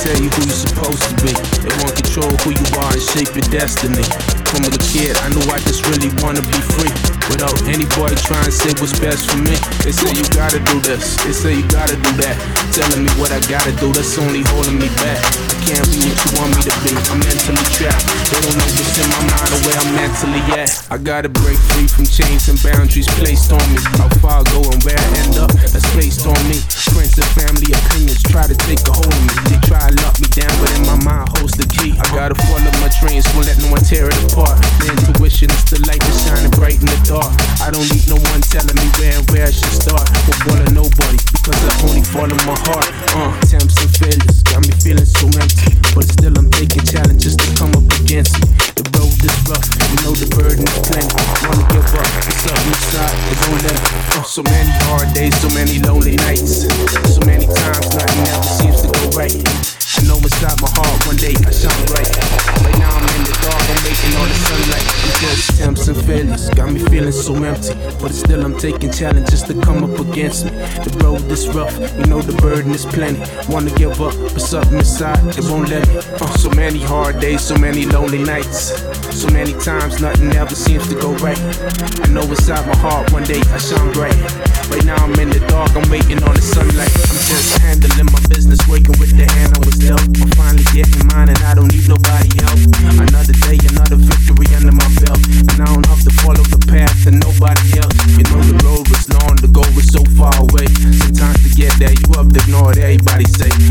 tell you who you're supposed to be. They want control who you are and shape your destiny. From a kid, I knew I just really wanna be free. Without any boy trying to say what's best for me. They say you gotta do this, they say you gotta do that. Telling me what I gotta do, that's only holding me back. I can't be what you want me to be, I'm mentally trapped. They don't know what's in my mind or where I'm mentally at. I gotta break free from chains and boundaries placed on me. How far I go and where I end up, that's placed on me. Friends and family opinions try to take a hold of me. They try to lock me down, but in my mind holds the key. I gotta follow my dreams, won't let no one tear it apart. The intuition is the light that's shining bright in the dark. I don't need no one telling me where I should start. Won't follow nobody, because I only follow my heart. Attempts and failures got me feeling so empty, but still I'm taking challenges to come up against me. The road is rough, you know the burden is plenty. Wanna give up, it's up inside, it won't let me. So many hard days, so many lonely nights. So many times nothing ever seems to go right. I know inside my heart one day I shine bright. Right now I'm in the dark, I'm waiting on the sunlight. Because attempts and failures got me feeling so empty, but still I'm taking challenges to come up against me. The road is rough, you know the burden is plenty. Wanna give up, but something inside, it won't let me. So many hard days, so many lonely nights. So many times nothing ever seems to go right. I know inside my heart one day I shine bright. Right now I'm in the dark, I'm waiting on the sunlight. I'm just handling my business, working with the hand I was dealt. I'm finally getting mine and I don't need nobody else. Another day, another victory under my belt, and I don't have to follow the path and nobody else. You know the road was long, the goal was so far away. Sometimes to get there, you have to ignore what everybody say.